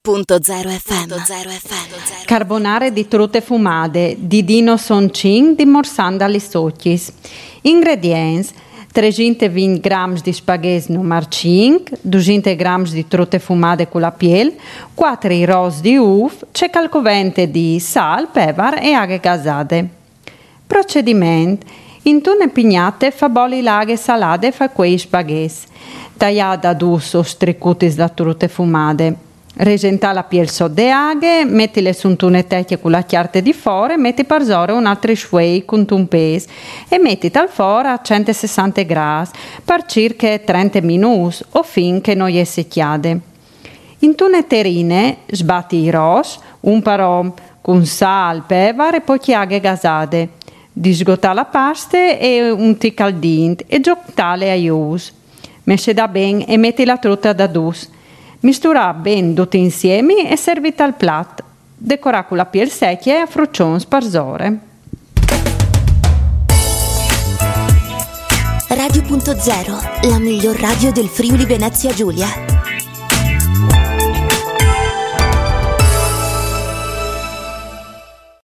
Radio.0 FM. Carbonare di trutte fumate di Dino Soncin di Morsanda li Socchis. Ingredienti: 320 grammi di spaghetti numero 5, 200 grammi di trutte fumate con la piel, 4 ros di uva, c'è calcovente di sal, peper e aghe gasate. Procedimento: in tune pignate fa bolli l'aghe salate fa quei spaghetti, tagliata ad us o stricutis da trutte fumate. Regenta la piel sode aghe, metti le suntune tecchie con la chiarte di fore, metti parzore un altro shuey con un pes e metti tal fora a 160 gradi per circa 30 minuti o fin che non è secchiade. In tune terrine sbatti i ros, un parò con sal, peper e poi chiaghe gasate. Disgotta la pasta e un tic al dint e giottale a ius. Mesce da ben e metti la trutta da dus. Mistura ben tutti insieme e servita al piatto. Decora con la piel secchia e a fruccion sparzore. Radio.0, la miglior radio del Friuli Venezia Giulia.